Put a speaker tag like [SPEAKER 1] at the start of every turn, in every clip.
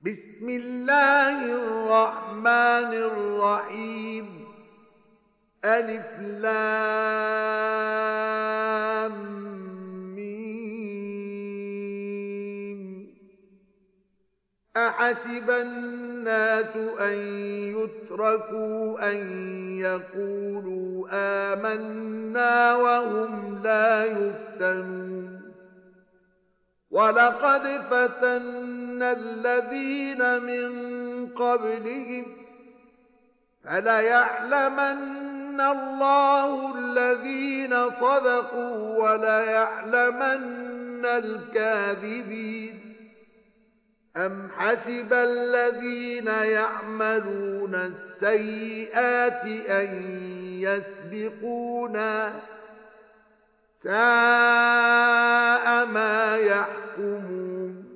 [SPEAKER 1] بسم الله الرحمن الرحيم ألف لام ميم أحسب الناس أن يتركوا أن يقولوا آمنا وهم لا يفتنون ولقد فتنا الذين من قبلهم فليعلمن الله الذين صدقوا وليعلمن الكاذبين أم حسب الذين يعملون السيئات أن يسبقونا ساء ما يحكمون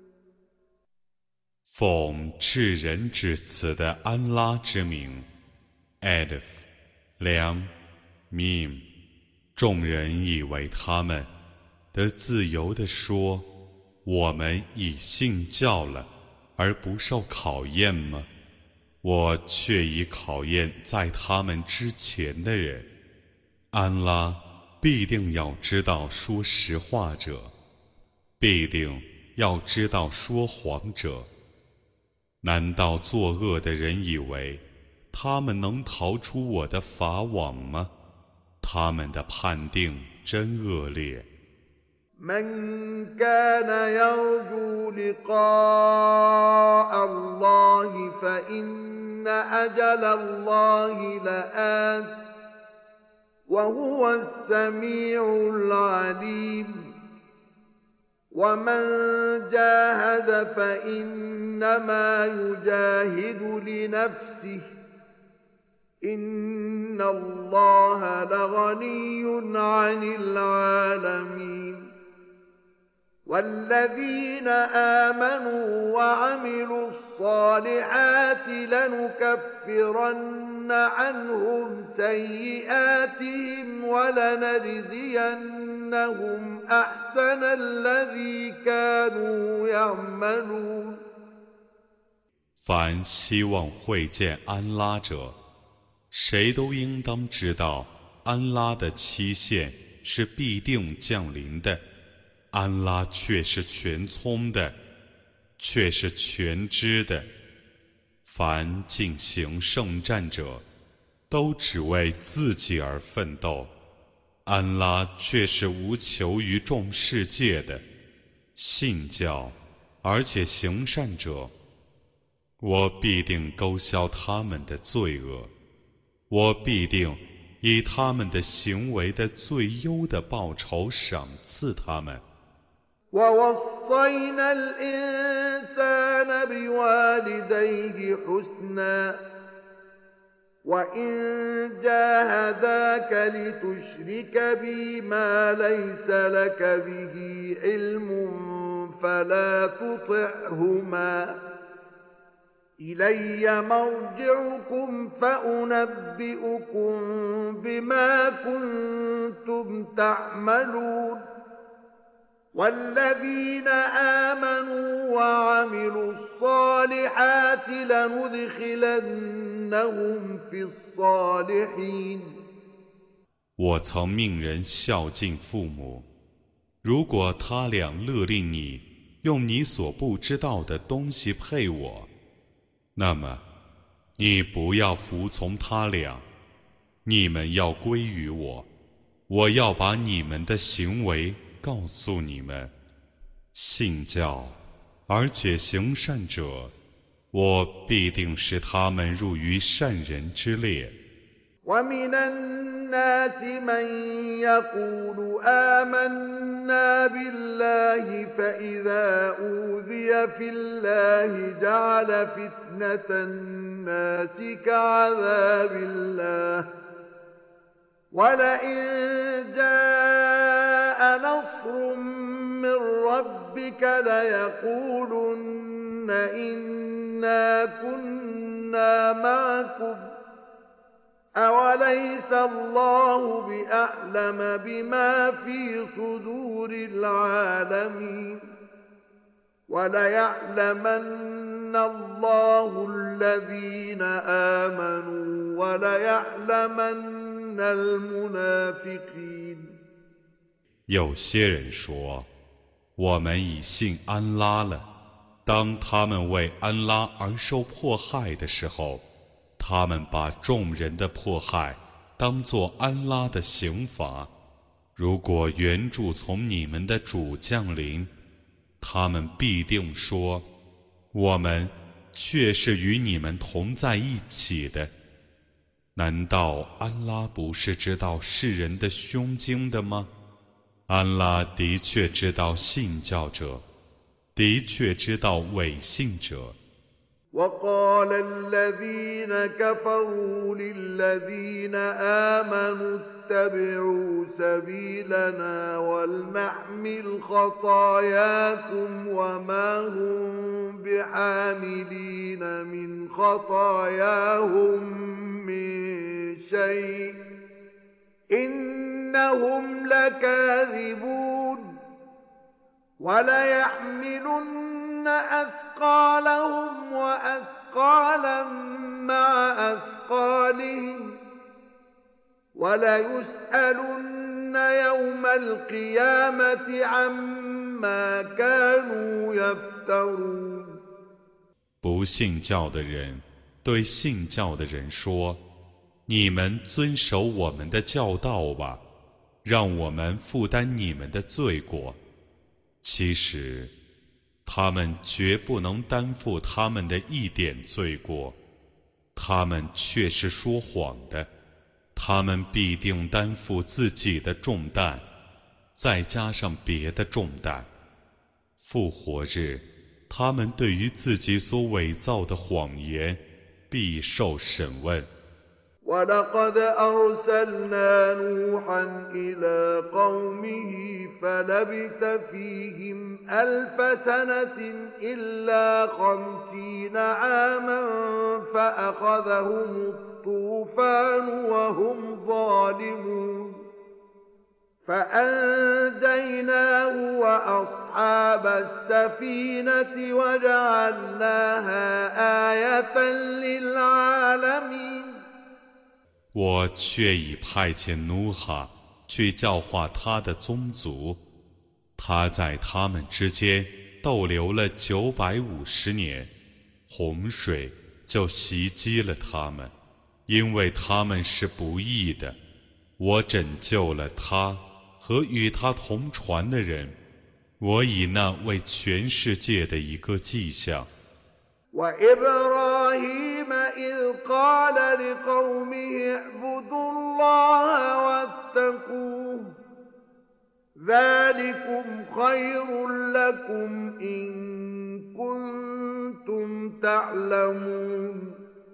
[SPEAKER 2] 奉至仁至慈的安拉之名 Alif Lam Mim 众人以为他们得自由地说我们已信教了而不受考验吗我却已考验在他们之前的人安拉必定要知道说实话者必定要知道说谎者难道作恶的人以为他们能逃出我的法网吗他们的判定真恶劣
[SPEAKER 1] من كان يرجو لقاء الله فإن أجل الله لآت وهو السميع العليم ومن جاهد فإنما يجاهد لنفسه إن الله لغني عن العالمين والذين آمنوا وعملوا الصالحات لنكفرن عنهم سيئاتهم ولنجزينهم أحسن الذي كانوا يعملون
[SPEAKER 2] 凡希望会见安拉者谁都应当知道安拉的期限是必定降临的安拉却是全聪的却是全知的凡进行圣战者都只为自己而奋斗安拉却是无求于众世界的信教而且行善者我必定勾销他们的罪恶我必定以他们的行为的最优的报酬赏赐他们
[SPEAKER 1] ووصينا الإنسان بوالديه حسنا وإن جاهداك لتشرك بي ما ليس لك به علم فلا تطعهما إلي مرجعكم فأنبئكم بما كنتم تعملون والذين آمنوا وعملوا الصالحات لندخلنهم في الصالحين
[SPEAKER 2] 我曾命人孝敬父母如果他俩勒令你用你所不知道的东西配我那么你不要服从他俩你们要归于我我要把你们的行为告诉你们信教而且行善者我必定使他们入于善人之列
[SPEAKER 1] ومن الناس من يقول آمنا بالله فإذا أوذي في الله جعل فتنة الناس كعذاب الله ولئن جاء نصر من ربك ليقولن إنا كنا معكم أوليس الله بأعلم بما في صدور العالمين وليعلمن الله الذين آمنوا وليعلمن المنافقين。
[SPEAKER 2] 有些人说，我们已信安拉了。当他们为安拉而受迫害的时候，他们把众人的迫害当作安拉的刑罚。如果援助从你们的主降临，他们必定说，我们却是与你们同在一起的。难道安拉不是知道世人的胸襟的吗？安拉的确知道信教者，的确知道伪信者。
[SPEAKER 1] وقال الذين كفروا للذين آمنوا اتبعوا سبيلنا ولنحمل خطاياكم وما هم بحاملين من خطاياهم من شيء إنهم لكاذبون وليحملن أثقالهم وأثقالا مع أثقالهم وليسألن يوم القيامة عما كانوا يفترون。
[SPEAKER 2] 不信教的人对信教的人说，你们遵守我们的教导吧，让我们负担你们的罪过。其实他们绝不能担负他们的一点罪过，他们却是说谎的。他们必定担负自己的重担，再加上别的重担。复活日，他们对于自己所伪造的谎言必受审问。
[SPEAKER 1] ولقد أرسلنا نوحا إلى قومه فلبث فيهم ألف سنة إلا 50 عاما فأخذهم الطوفان وهم ظالمون فأنجيناه وأصحاب السفينة وجعلناها آية للعالمين。
[SPEAKER 2] 我却已派遣努哈去教化他的宗族，他在他们之间逗留了950年，洪水就袭击了他们，因为他们是不义的。我拯救了他和与他同船的人，我以那为全世界的一个迹象。
[SPEAKER 1] وإبراهيم إذ قال لقومه اعبدوا الله واتقوه ذلكم خير لكم إن كنتم تعلمون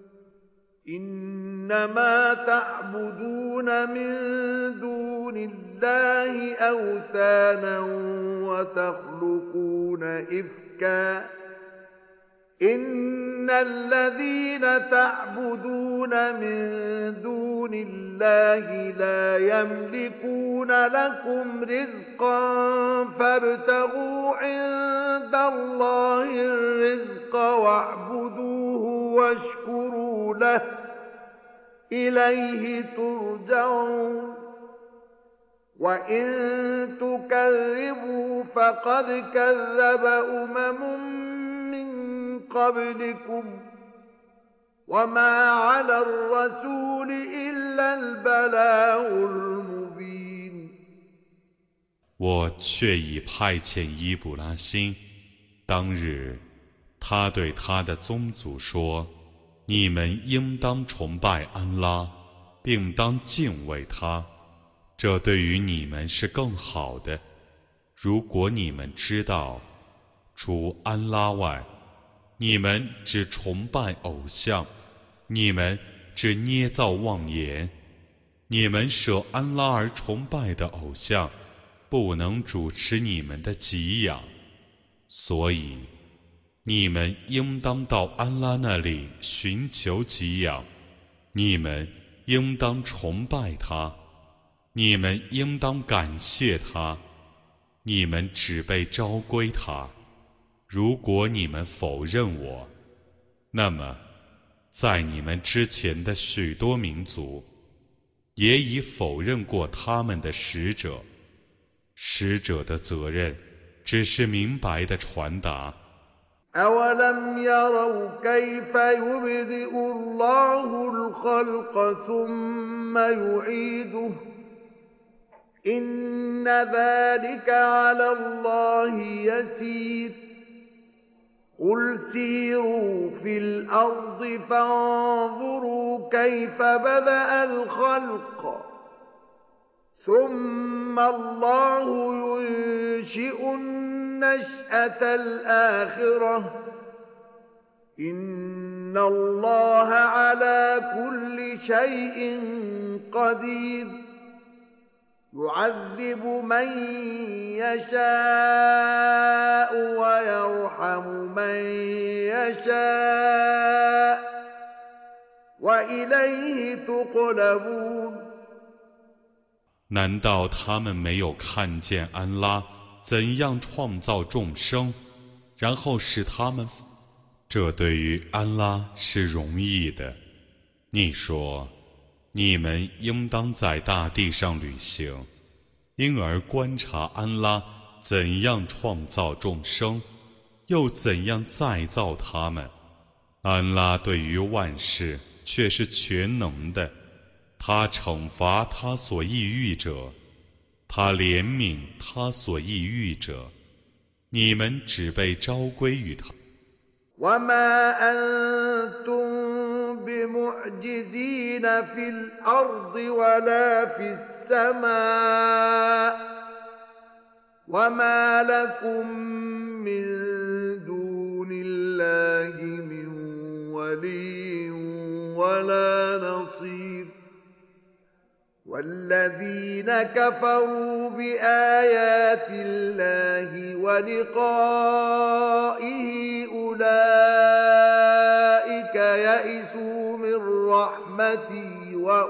[SPEAKER 1] إنما تعبدون من دون الله أوثانا وتخلقون إفكا إن الذين تعبدون من دون الله لا يملكون لكم رزقا فابتغوا عند الله الرزق واعبدوه واشكروا له إليه ترجعون وإن تكذبوا فقد كذب قبلكم وما على الرسول إلا البلاغ المبين。
[SPEAKER 2] 我却已派遣伊布拉欣，当日他对他的宗族说：你们应当崇拜安拉，并当敬畏他，这对于你们是更好的。如果你们知道，除安拉外，你们只崇拜偶像，你们只捏造妄言，你们舍安拉而崇拜的偶像，不能主持你们的给养，所以你们应当到安拉那里寻求给养，你们应当崇拜他，你们应当感谢他，你们只被召归他。如果你们否认我， 那么，在你们之前的许多民族，也已否认过他们的使者。使者的责任只是明白的传达。
[SPEAKER 1] أولم يروا كيف يبدئ الله الخلق ثم يعيده إن ذلك على الله يسير قل سيروا في الأرض فانظروا كيف بدأ الخلق ثم الله ينشئ النشأة الآخرة إن الله على كل شيء قدير يعذب من يشاء ويرحم من يشاء وإليه تقلبون
[SPEAKER 2] 难道他们没有看见安拉怎样创造众生，然后使他们？这对于安拉是容易的。你说，你们应当在大地上旅行，因而观察安拉怎样创造众生，又怎样再造他们。安拉对于万事却是全能的。他惩罚他所抑郁者，他怜悯他所抑郁者，你们只被召归于他。
[SPEAKER 1] وما أنتم بمعجزين في الأرض ولا في السماء وما لكم من دون الله من ولي ولا نصير والذين كفروا بآيات الله ولقائه أولئك يئسوا من رحمتي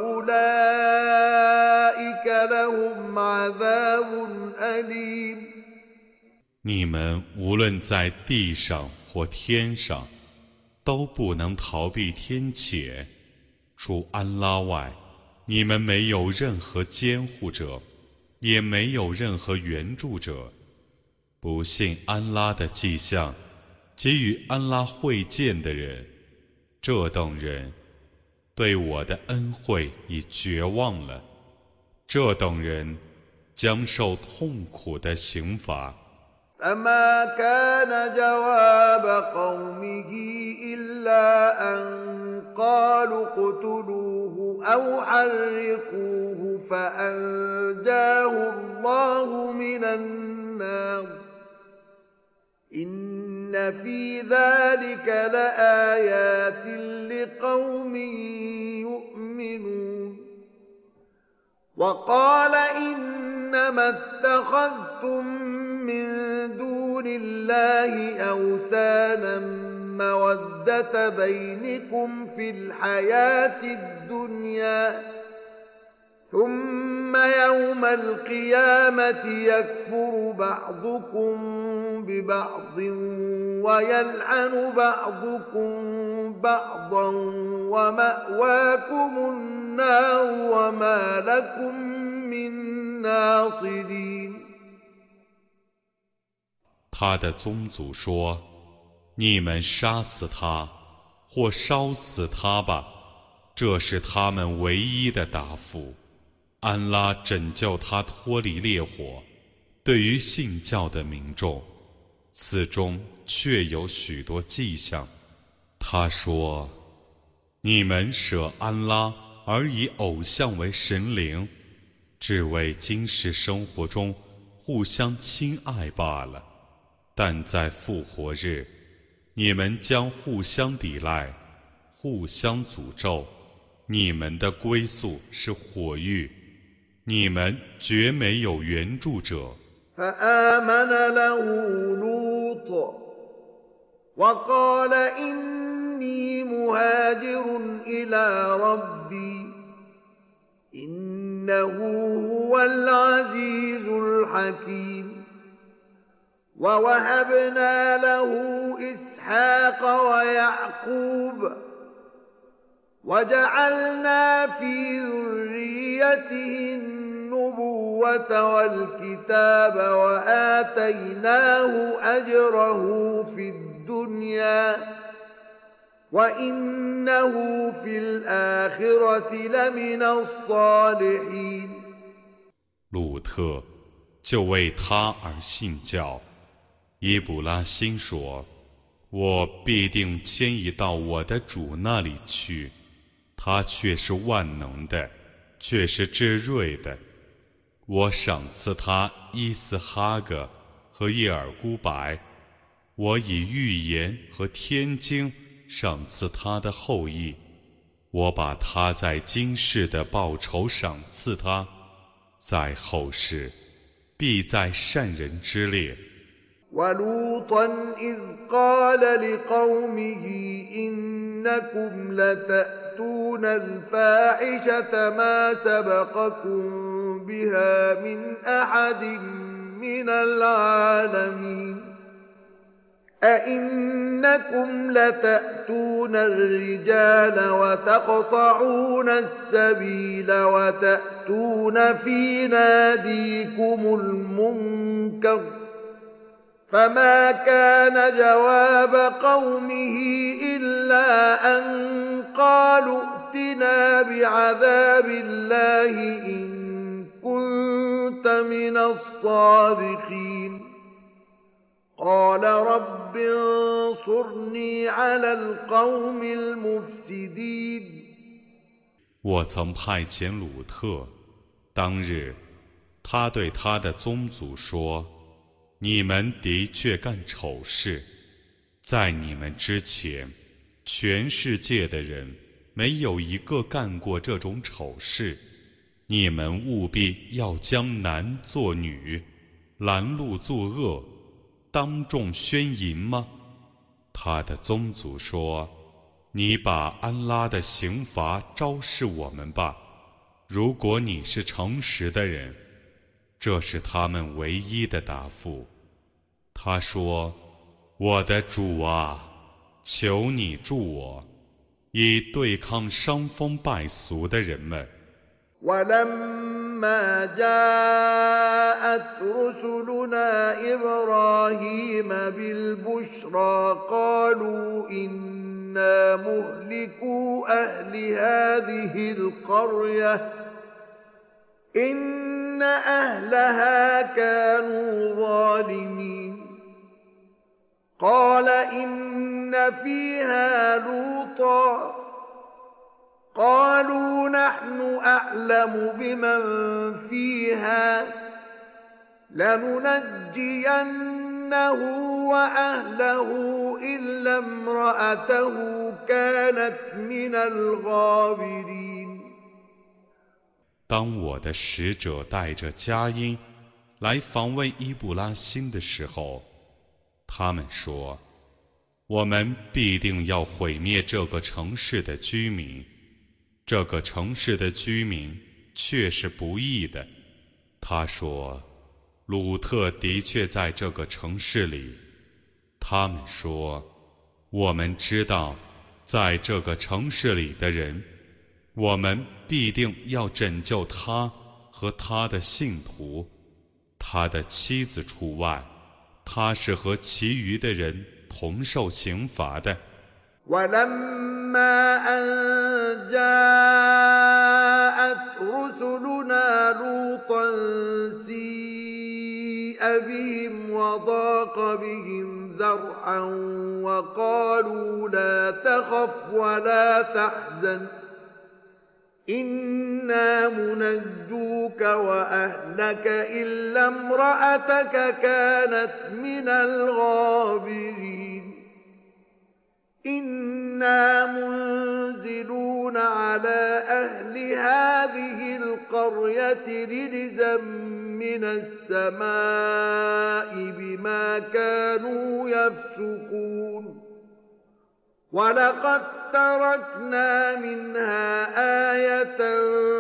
[SPEAKER 1] وأولئك لهم عذاب أليم
[SPEAKER 2] 你们无论在地上或天上，都不能逃避天谴。除安拉外，你们没有任何监护者，也没有任何援助者。不信安拉的迹象，给予安拉会见的人，这等人对我的恩惠已绝望了。这等人将受痛苦的刑罚。
[SPEAKER 1] فما كان جواب قومه إلا أن قالوا اقتلوه أو حرقوه فأنجاه الله من النار إن في ذلك لآيات لقوم يؤمنون وقال إنما اتخذتم من دون الله أوثانا مودة بينكم في الحياة الدنيا ثم يوم القيامة يكفر بعضكم ببعض ويلعن بعضكم بعضا ومأواكم النار وما لكم من ناصرين
[SPEAKER 2] 他的宗族说：“你们杀死他，或烧死他吧，这是他们唯一的答复。安拉拯救他脱离烈火。对于信教的民众，此中确有许多迹象。”他说：“你们舍安拉而以偶像为神灵，只为今世生活中互相亲爱罢了。但在复活日，你们将互相抵赖，互相诅咒，你们的归宿是火狱，你们绝没有援助者。”
[SPEAKER 1] فآمن له لوط وقال إني مهاجر إلى ربي إنه هو العزيز الحكيم ووهبنا له إسحاق ويعقوب وجعلنا في ذريته النبوة والكتاب وآتيناه أجره في الدنيا وإنه في الآخرة لمن الصالحين
[SPEAKER 2] 路特就为他而信教。伊卜拉欣说：“我必定迁移到我的主那里去，他却是万能的，却是至睿的。我赏赐他伊斯哈格和叶尔孤白，我以预言和天经赏赐他的后裔。我把他在今世的报酬赏赐他，在后世必在善人之列。”
[SPEAKER 1] ولوطا إذ قال لقومه إنكم لتأتون الفاحشة ما سبقكم بها من أحد من العالمين أئنكم لتأتون الرجال وتقطعون السبيل وتأتون في ناديكم المنكر فما كان جواب قومه إلا أن قالوا ائتنا بعذاب الله إن كنت من الصادقين قال رب انصرني على القوم المفسدين
[SPEAKER 2] 我曾派遣鲁特，当日他对他的宗族说：“你们的确干丑事，在你们之前，全世界的人没有一个干过这种丑事。你们务必要将男作女，拦路作恶，当众宣淫吗？”他的宗族说：“你把安拉的刑罚昭示我们吧，如果你是诚实的人。”这是他们唯一的答复。他说：“我的主啊，求你助我，以对抗伤风败俗的人们。”
[SPEAKER 1] ولما جاءت رسلنا إبراهيم بالبشرى قالوا إنا مهلكو أهل هذه القرية إن أهلها كانوا ظالمين قال إن فيها لوطا قالوا نحن أعلم بمن فيها لننجينه وأهله إلا امرأته كانت من الغابرين
[SPEAKER 2] 当我的使者带着佳音来访问伊布拉欣的时候，他们说：“我们必定要毁灭这个城市的居民。这个城市的居民却是不义的。”他说：“鲁特的确在这个城市里。”他们说：“我们知道，在这个城市里的人，我们必定要拯救他和他的信徒，他的妻子除外，他是和其余的人同受刑罚的。”
[SPEAKER 1] ولما أن جاءت رسلنا لوطا سيء بهم وضاق بهم ذرعا وقالوا لا تخف ولا تحزن إنا منجوك وأهلك إلا امرأتك كانت من الغابرين إنا منزلون على أهل هذه القرية رجزا من السماء بما كانوا يفسقون ولقد تركنا منها آية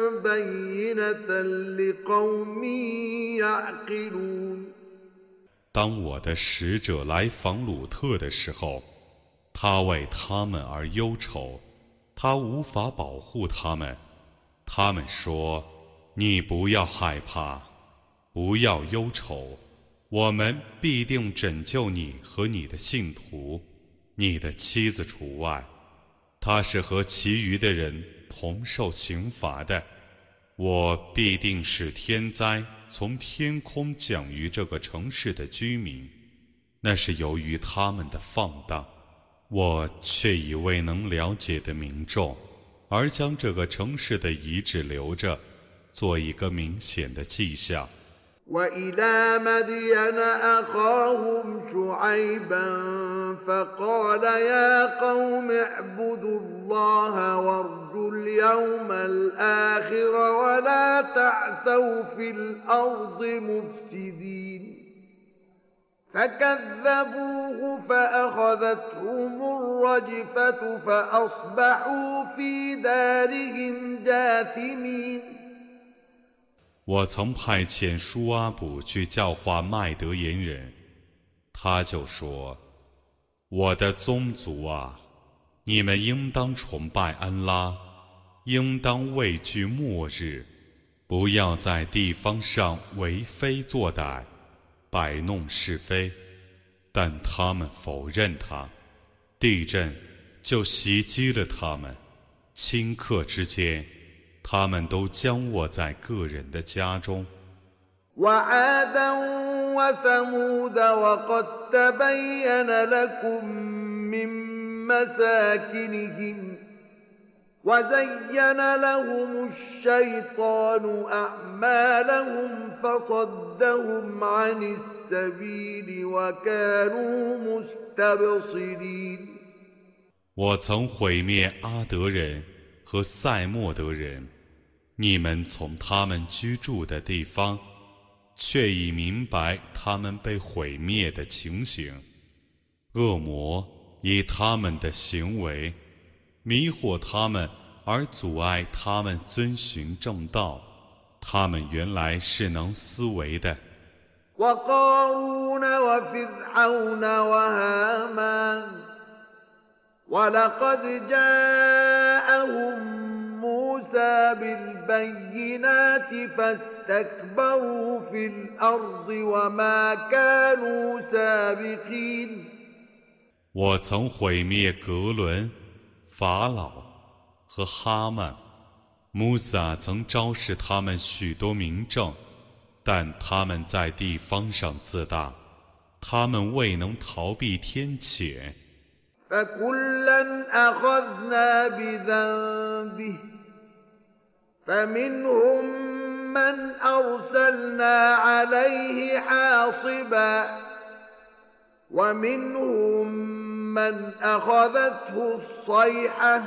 [SPEAKER 1] بينة لقوم يعقلون
[SPEAKER 2] 当我的使者来访鲁特的时候，他为他们而忧愁，他无法保护他们。他们说：你不要害怕，不要忧愁，我们必定拯救你和你的信徒，你的妻子除外。他是和其余的人同受刑罚的。我必定使天灾从天空降于这个城市的居民，那是由于他们的放荡。我却以未能了解的民众，而将这个城市的遗址留着，做一个明显的迹象。
[SPEAKER 1] وإلى مدين أخاهم شعيبا فقال يا قوم اعبدوا الله وارجوا اليوم الآخر ولا تعثوا في الأرض مفسدين فكذبوه فأخذتهم الرجفة فأصبحوا في دارهم جاثمين
[SPEAKER 2] 我曾派遣舒阿卜去教化麦德言人，他就说：我的宗族啊，你们应当崇拜安拉，应当畏惧末日，不要在地方上为非作歹，摆弄是非。但他们否认他，地震就袭击了他们，顷刻之间他们都僵卧在个人的家中。
[SPEAKER 1] وعادا وثمود وقد تبين لكم من مساكنهم وزين لهم الشيطان أعمالهم فصدهم عن السبيل وكانوا مستبصرين
[SPEAKER 2] 我曾毁灭阿德人和塞莫德人，你们从他们居住的地方，却已明白他们被毁灭的情形。恶魔以他们的行为迷惑他们，而阻碍他们遵循正道。他们原来是能思维的。
[SPEAKER 1] وقارون وفرعون وهامان ولقد جاءهم موسى بالبينات فاستكبروا في الأرض وما كانوا سابقين
[SPEAKER 2] 我曾毁灭格伦、法老和哈曼，穆萨曾昭示他们许多明证，但他们在地方上自大，他们未能逃避天谴。
[SPEAKER 1] فكلا أخذنا بذنبه فمنهم من أرسلنا عليه حاصبا ومنهم من أخذته الصيحة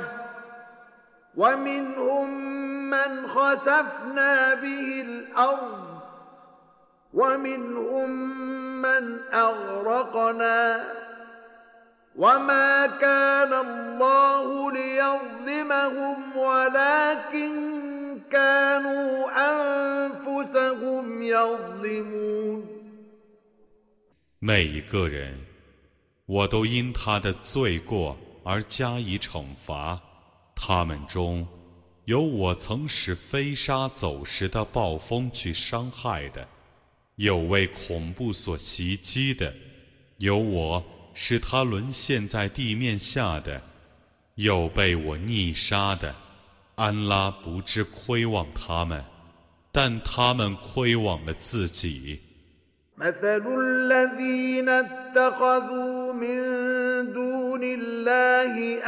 [SPEAKER 1] ومنهم من خسفنا به الأرض ومنهم من أغرقنا وما كان الله ليظلمهم ولكن كانوا أنفسهم يظلمون
[SPEAKER 2] 每一个人，我都因他的罪过而加以惩罚。他们中有我曾使飞沙走石的暴风去伤害的，有为恐怖所袭击的，有我使他沦陷在地面下的，有被我溺杀的。安拉不知亏枉他们，但他们亏枉了自己。
[SPEAKER 1] مثل الذين اتخذوا من دون الله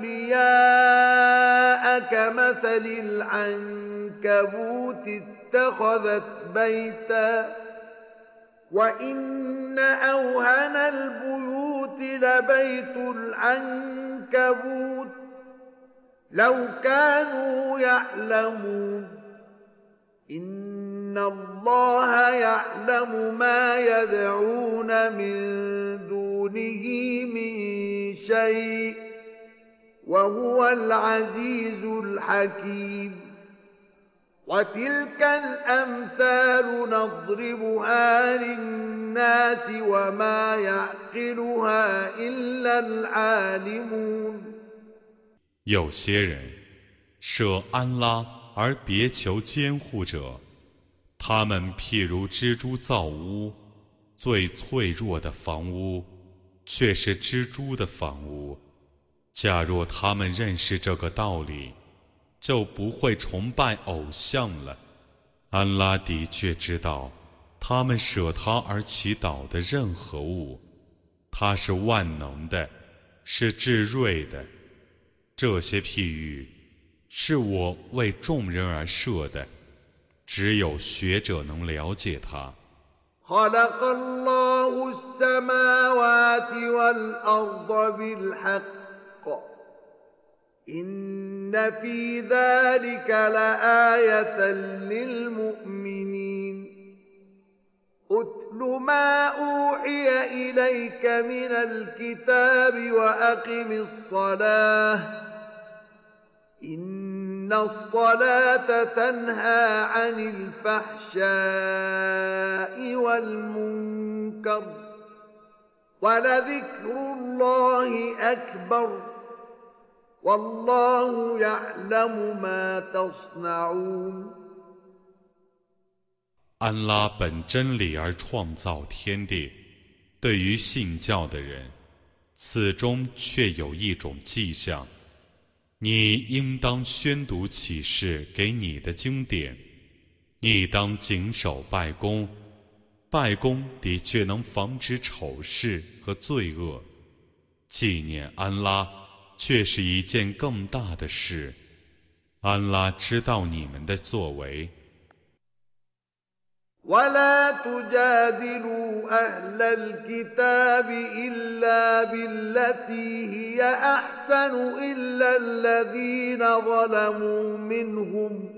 [SPEAKER 1] أولياء كمثل العنكبوت اتخذت بيتا وإن أوهن البيوت لبيت العنكبوت لو كانوا يعلمون إن الله يعلم ما يدعون من دونه من شيء وهو العزيز الحكيم وتلك الأمثال نضربها للناس وما يعقلها إلا العالمون
[SPEAKER 2] 有些人舍安拉而别求监护者，他们譬如蜘蛛造屋，最脆弱的房屋却是蜘蛛的房屋。假若他们认识这个道理，就不会崇拜偶像了。安拉的确知道他们舍他而祈祷的任何物，他是万能的，是至睿的。这些譬喻是我为众人而设的，只有学者能了解它。
[SPEAKER 1] خلق الله السماوات والأرض بالحق إن في ذلك لآية للمؤمنين أتل ما أوحي إليك من الكتاب وأقم الصلاة إن الصلاة تنهى عن الفحشاء والمنكر ولذكر الله أكبر والله يعلم ما تصنعون
[SPEAKER 2] 安拉本真理而创造天地，对于信教的人，此中却有一种迹象。你应当宣读启示给你的经典，你当谨守拜功，拜功的确能防止丑事和罪恶。纪念安拉却是一件更大的事，安拉知道你们的作为。
[SPEAKER 1] ولا تجادلوا أهل الكتاب إلا بالتي هي أحسن إلا الذين ظلموا منهم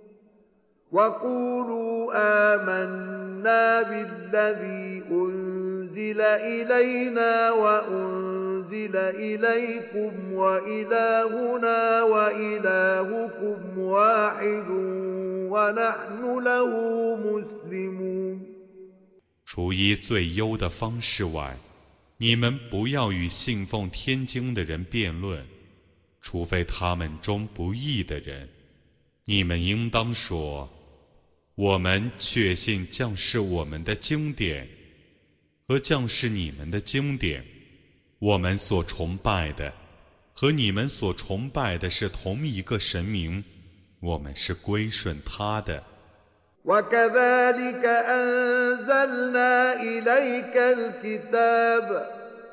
[SPEAKER 1] وقولوا آمنا بالذي أنزل إلينا وأنزل إليكم وإلهنا وإلهكم واحد ونحن له مسلمون
[SPEAKER 2] 除依最优的方式外，你们不要与信奉天经的人辩论，除非他们中不义的人。你们应当说，我们确信将是我们的经典和将是你们的经典，我们所崇拜的和你们所崇拜的是同一个神明，我们是归顺他的。
[SPEAKER 1] وكذلك أنزلنا إليك الكتاب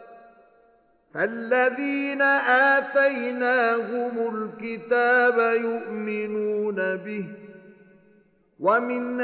[SPEAKER 1] فالذين آتيناهم الكتاب يؤمنون به ومن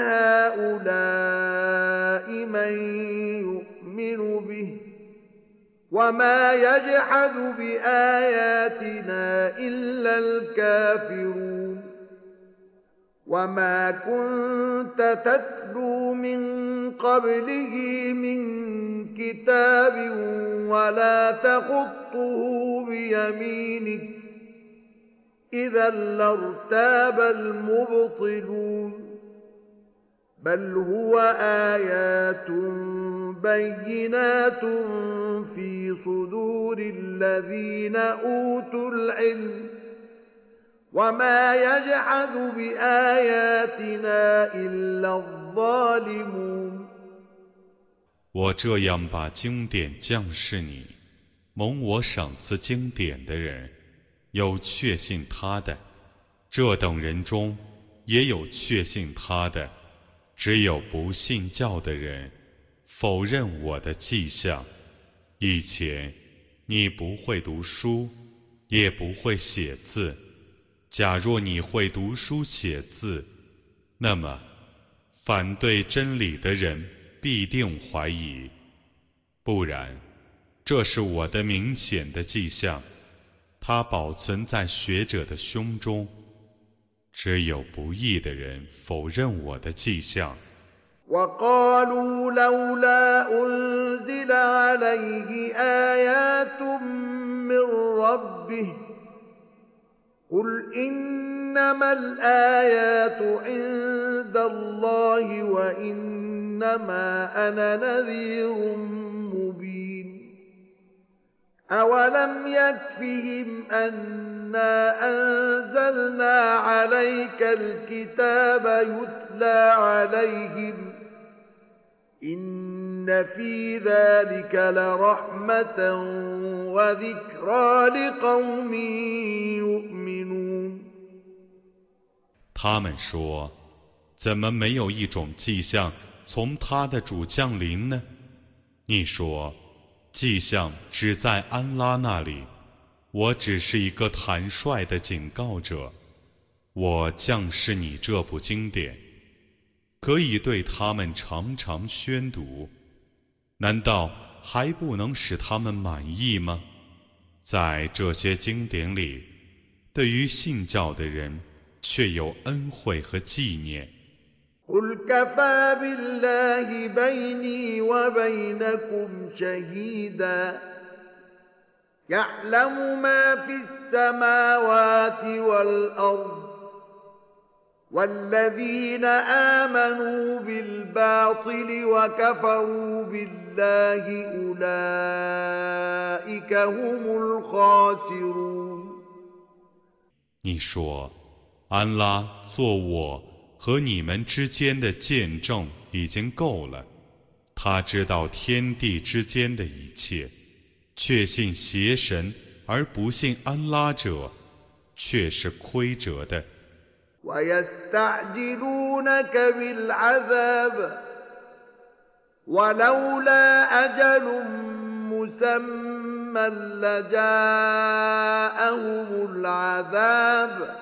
[SPEAKER 1] هؤلاء من يؤمن به وما يجحد بآياتنا إلا الكافرون وما كنت تتلو من قبله من كتاب ولا تخطه بيمينك إذا لارتاب المبطلون بل هو آيات بينات في صدور الذين أوتوا العلم وما يجحد بآياتنا إلا الظالمون
[SPEAKER 2] 我这样把经典降示你，蒙我赏赐经典的人，有确信他的，这等人中也有确信他的，只有不信教的人否认我的迹象。以前你不会读书，也不会写字。假若你会读书写字，那么反对真理的人必定怀疑，不然，这是我的明显的迹象，它保存在学者的胸中。只有不义的人否认我的迹象。
[SPEAKER 1] وقالوا لولا أنزل عليه آيات من ربه قل إن إنما الآيات عند الله وإنما أنا نذير مبين أولم يكفهم أنا أنزلنا عليك الكتاب يتلى عليهم إن في ذلك لرحمة وذكرى لقوم يؤمنون
[SPEAKER 2] 他们说，怎么没有一种迹象从他的主降临呢？你说，迹象只在安拉那里，我只是一个坦率的警告者。我降示你这部经典，可以对他们常常宣读，难道还不能使他们满意吗？在这些经典里，对于信教的人却有恩惠和纪念。
[SPEAKER 1] قل كفى بالله بيني وبينكم شهيدا يعلم ما في السماوات والأرض والذين آمنوا بالباطل وكفروا بالله أولئك هم الخاسرون
[SPEAKER 2] 你说，安拉做我和你们之间的见证已经够了，他知道天地之间的一切，确信邪神而不信安拉者，却是亏折的。
[SPEAKER 1] ويستعجلونك بالعذاب ولولا أجل مسمى لجاءهم العذاب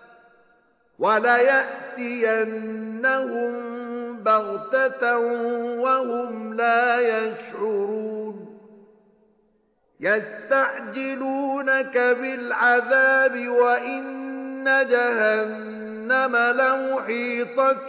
[SPEAKER 1] وليأتينهم بغتة وهم لا يشعرون يستعجلونك بالعذاب وإن جهنم لمحيطة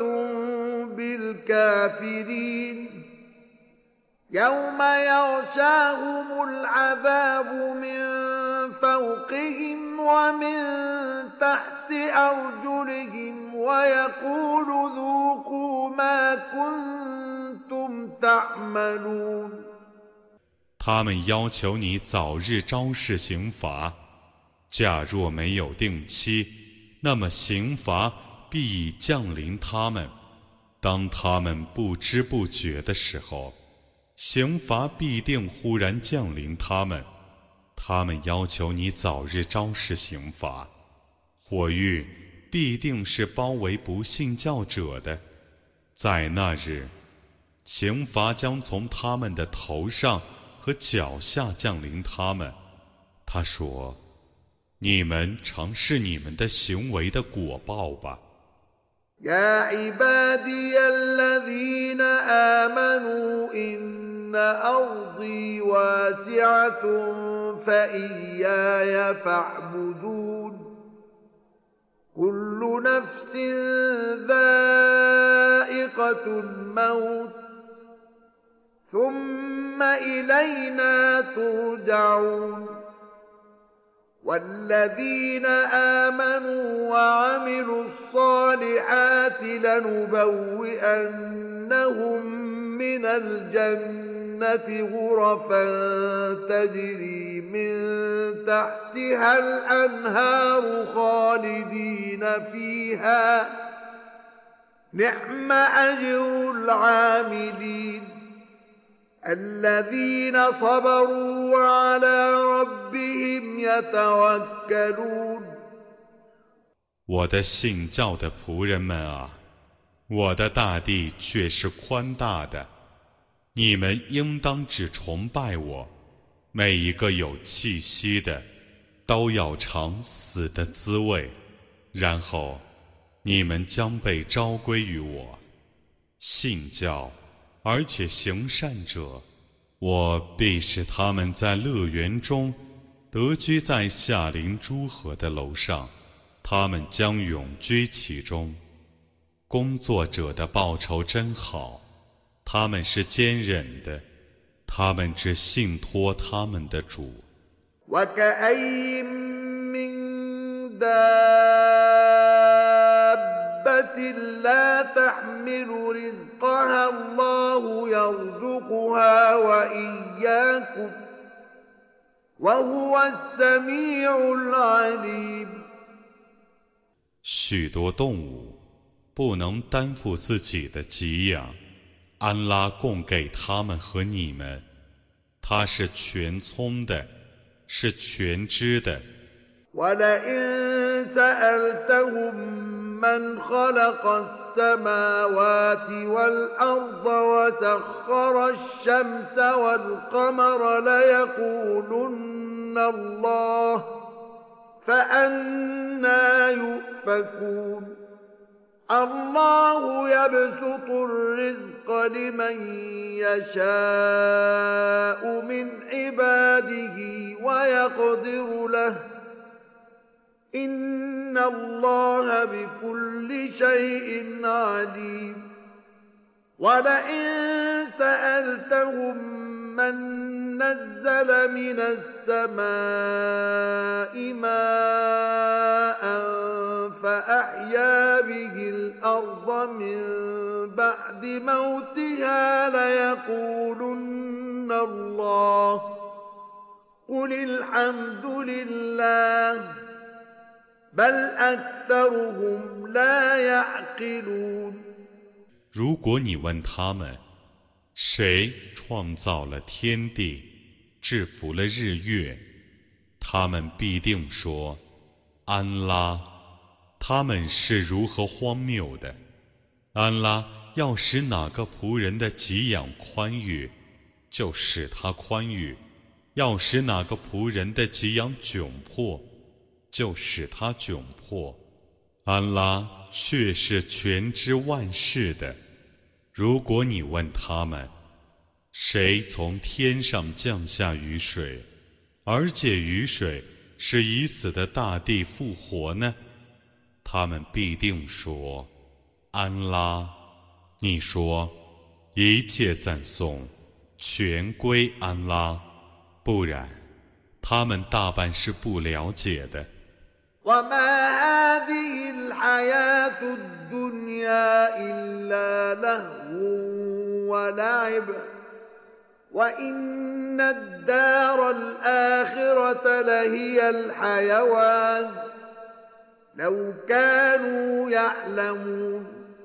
[SPEAKER 1] بالكافرين يوم يغشاهم العذاب من فوقهم ومن تحت أرجلهم ويقول ذوقوا ما كنتم تعملون
[SPEAKER 2] 他们要求你早日昭示刑罚，假若没有定期，那么刑罚必已降临他们。当他们不知不觉的时候，刑罚必定忽然降临他们。他们要求你早日昭示刑罚，火狱必定是包围不信教者的。在那日，刑罚将从他们的头上和脚下降临他们。他说，你们尝试你们的行为的果报吧。
[SPEAKER 1] يا عبادي الذين آمنوا إن أرضي واسعة فإياي فاعبدون كل نفس ذائقة الموت ثم إلينا ترجعون والذين آمنوا وعملوا الصالحات لنبوئنهم من الجنة غرفا تجري من تحتها الأنهار خالدين فيها نعم أجر العاملين الذين صبروا وعلى ربهم يتوكلون
[SPEAKER 2] 我的信教的仆人们啊，我的大地却是宽大的，你们应当只崇拜我。每一个有气息的都要尝死的滋味，然后你们将被召归于我。信教而且行善者，我必使他们在乐园中得居在夏临诸河的楼上，他们将永居其中。工作者的报酬真好，他们是坚忍的，他们只信托他们的主。
[SPEAKER 1] وكأين من دابة دابة لا تحمل رزقها الله يرزقها وإياكم وهو السميع العليم。
[SPEAKER 2] 许多动物不能担负自己的给养，安拉供给他们和你们，他是全聪的，是全知的。
[SPEAKER 1] ولئن سألتهم من خلق السماوات والأرض وسخر الشمس والقمر ليقولن الله فأنى يؤفكون الله يبسط الرزق لمن يشاء من عباده ويقدر له إن الله بكل شيء عليم ولئن سألتهم من نزل من السماء ماء فأحيا به الأرض من بعد موتها ليقولن الله قل الحمد لله بل أكثرهم لا يعقلون。
[SPEAKER 2] 如果你问他们，谁创造了天地，制服了日月，他们必定说，安拉。他们是如何荒谬的！安拉要使哪个仆人的给养宽裕，就使他宽裕；要使哪个仆人的给养窘迫，就使他窘迫。安拉却是全知万事的。如果你问他们，谁从天上降下雨水，而且雨水是已死的大地复活呢？他们必定说，安拉。你说，一切赞颂全归安拉，不然他们大半是不了解的。
[SPEAKER 1] وما هذه الحياة الدنيا إلا لهو ولعب وإن الدار الآخرة لهي الحيوان لو كانوا يعلمون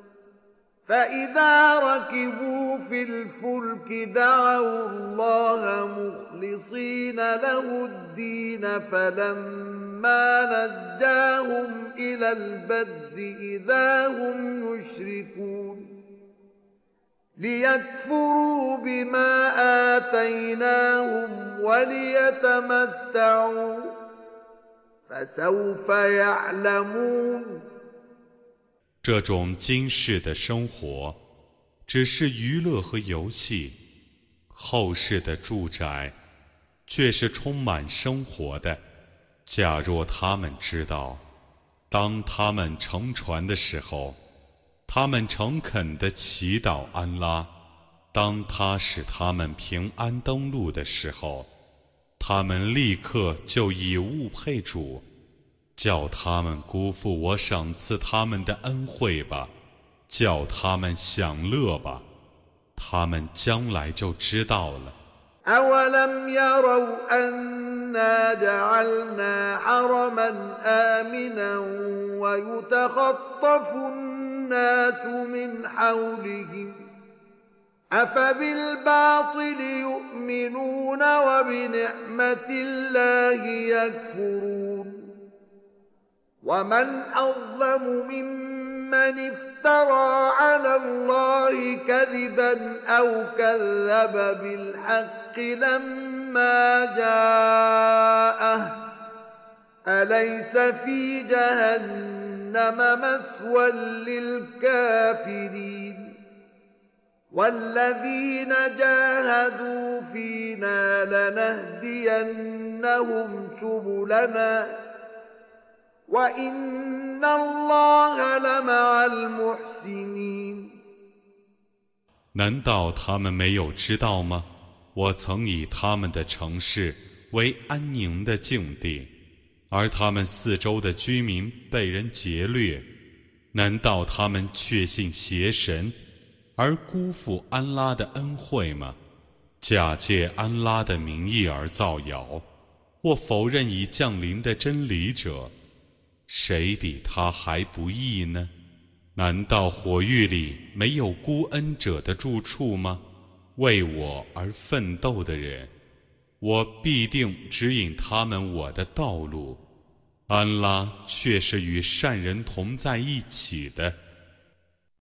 [SPEAKER 1] فإذا ركبوا في الفلك دعوا الله مخلصين له الدين فلما نجاهم إلى البر إذا هم يشركون ليكفروا بما آتيناهم وليتمتعوا فسوف يعلمون。
[SPEAKER 2] 这种今世的生活只是娱乐和游戏，后世的住宅却是充满生活的。假若他们知道，当他们乘船的时候，他们诚恳地祈祷安拉；当他使他们平安登陆的时候，他们立刻就以物配主，叫他们辜负我赏赐他们的恩惠吧，叫他们享乐吧，他们将来就知道了。
[SPEAKER 1] أولم يروا أنا جعلنا حرما آمنا ويتخطف الناس من حولهم أفبالباطل يؤمنون وبنعمة الله يكفرون ومن أظلم ممن افترى على الله كذبا أو كذب بالحق لما جاءه أليس في جهنم مثوى للكافرين والذين جاهدوا فينا لنهدينهم سبلنا وإن الله لمع المحسنين。
[SPEAKER 2] 难道他们没有知道吗？我曾以他们的城市为安宁的境地，而他们四周的居民被人劫掠。 难道他们确信邪神，而辜负安拉的恩惠吗？假借安拉的名义而造谣，或否认已降临的真理者，谁比他还不义呢？难道火狱里没有孤恩者的住处吗？为我而奋斗的人，我必定指引他们我的道路。安拉却是与善人同在一起的。